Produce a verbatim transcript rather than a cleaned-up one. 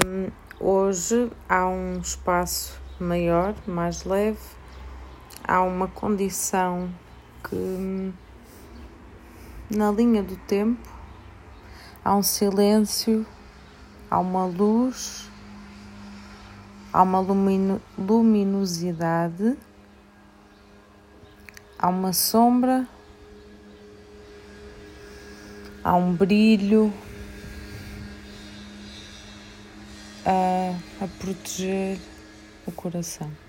Um, hoje há um espaço maior, mais leve, há uma condição que, na linha do tempo, há um silêncio, há uma luz, há uma lumino- luminosidade, há uma sombra, há um brilho a, a proteger o coração.